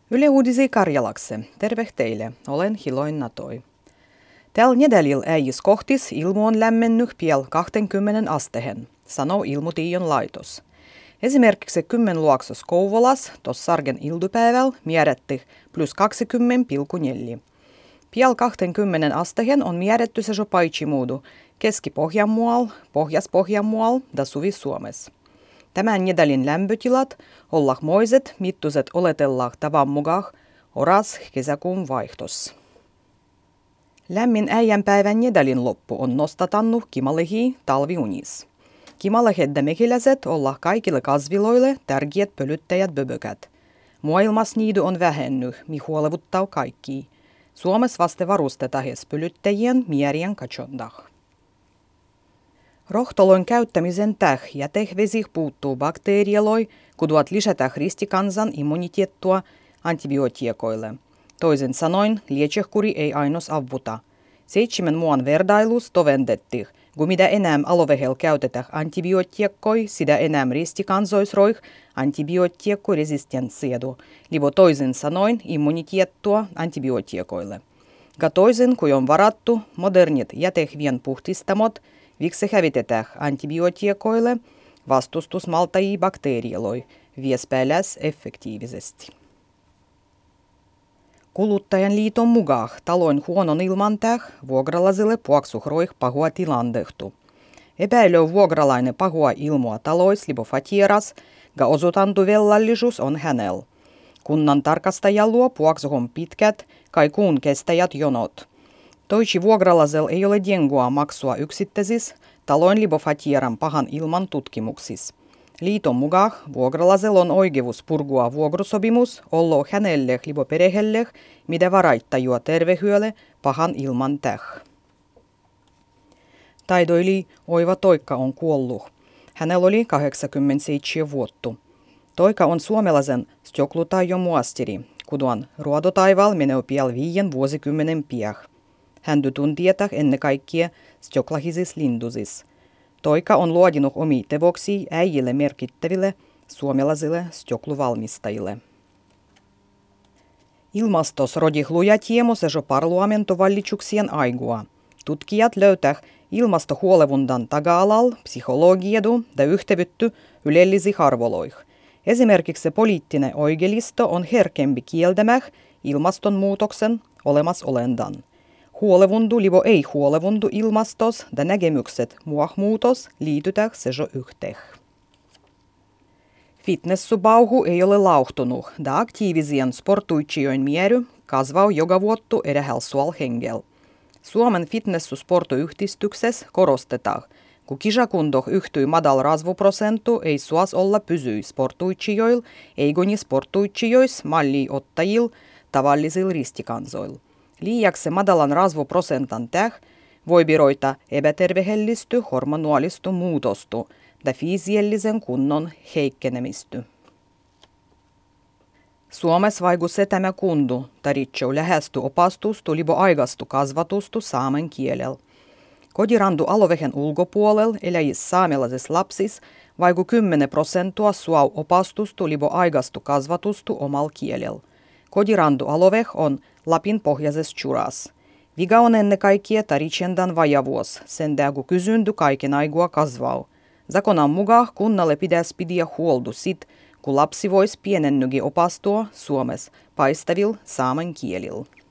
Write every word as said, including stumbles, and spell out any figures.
Yle Uudisi Karjalakse. Terve teille. Olen Hiloin Natoi. Tällä nedälil äijis kohtis ilmu on lämmennyt piel kaksikymmentä astehen, sanoo Ilmutiion laitos. Esimerkiksi kymmenluoksos Kouvolas tos sargen ildupäiväl määrätti plus kaksikymmentä pilkku neljä. Piel kaksikymmentä astehen on määrätty se jo paitsimuudu Keski-Pohjanmual, Pohjas-Pohjanmual ja Suvi-Suomes. Tämän nedälin lämpötilat ollah moiset mittuset oletellah tavan mukaan oras kesäkuun vaihtos. Lämmin äijänpäivän nedälin loppu on nostatannut kimalehi talviunis. Kimalehedda mehiläiset ollah kaikille kasviloille tärkeät pölyttäjät böbökät. Maailmas niidy on vähennyt, mi huolevuttaa kaikki. Suomessa vaste varustetahes pölyttäjien mierien katsondah. Rohtolon käyttämisen täh jätehvesih puuttuu bakteerialoi, kuduat lisätä ristikansan immuniteettua antibiotiekoille. Toisin sanoen, lietsehkuri ei ainos avuta. Seitsemän muun verdailus tovendettih, kun mitä enää alovehel käytetään antibiotiekkoi, sitä enää ristikansoisroih antibiotiekkoresistenssiedu, libo toisin sanoen immuniteettua antibiotiekoille. Ka toisin kuin on varattu, modernit jätehvien puhdistamot, viksi hävitetään antibiotiekoille vastustusmaltajia bakteerialoi, viespääläs effektiivisesti. Kuluttajan liiton mukaan talon huonon ilman täh vuokralaisille puoksuhroih pahua tilandehtu. Epäilö vuokralainen pahua ilmoa talois libo fatieras, ga osoitantu vellallisuus on hänellä. Kunnan tarkastaja luo puoksuhon pitkät, kai kuun kestäjät jonot. Toici vuokralaisella ei ole diengua maksua yksittäisissä taloin libo fatieran pahan ilman tutkimuksis. Liiton mukaan vuokralaisella on oikeus purgua vuokrusopimus ollo hänelle libo perehelle, mitä varaittajua tervehyölle pahan ilman täh. Taidoili Oiva Toikka on kuollut. Hänellä oli kahdeksankymmentäseitsemän vuotta. Toika on suomalaisen Stjoklutaijon muastiri, kuduan ruodotaival menee piel viien vuosikymmenen piah. Hän tuntietä ennen kaikkea stjoklahisis lindusis. Toika on luodinut omia tevoksia äijille merkittäville suomalaisille stjokluvalmistajille. Ilmastos rodihluja tiemos jo parlamentovallituksien aigua. Tutkijat löytää ilmastohuolevundan taga-alal psykologiedu ja yhtevytty ylellisi harvoloih. Esimerkiksi poliittinen oikeisto on herkempi kieltämäh ilmastonmuutoksen olemasolendan. Huolevundu libo ei huolevundu ilmastos ja näkemykset muahmuutos liitytään se jo yhteen. Fitnessubauhu ei ole lauhtunut ja aktiivisien sportuitsijoin miery kasvaa joka vuottu erähälsual hengel. Suomen fitnessusportuyhdistyksessä korostetaan, kun kisakundoh yhtyi madal rasvuprosentu ei suas olla pysyi sportuitsijoil, eikoni sportuitsijois malli ottajil tavallisil ristikansoil. Liiaksi madalan rasvuprosentan täh voi biroita epätervehellisty hormonualistu muutostu ja fisiellisen kunnon heikkenemisty. Suomessa vaikusse tämä kundu, taritseu lähesty opastustu libo aigastu kasvatustu saamen kielellä. Kotirandu alovehen ulkopuolella eläjis saamelaisissa lapsis vaiku kymmenen prosenttia suau opastustu libo aigastu kasvatustu omal kielellä. Kotirandu aloveh on Lapin pohjaisessa churas. Viga on ennen kaikkea taritsendan vajavuos, sen dägu kysyndy kaiken aigua kasvau. Zakonan mukaan kunnalle pitäisi pidiä huoldu sit, kun lapsi vois pienennygi opastua Suomessa paistavil saamen kielillä.